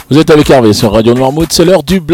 Vous êtes avec Hervé sur Radio Noirmouth, c'est l'heure du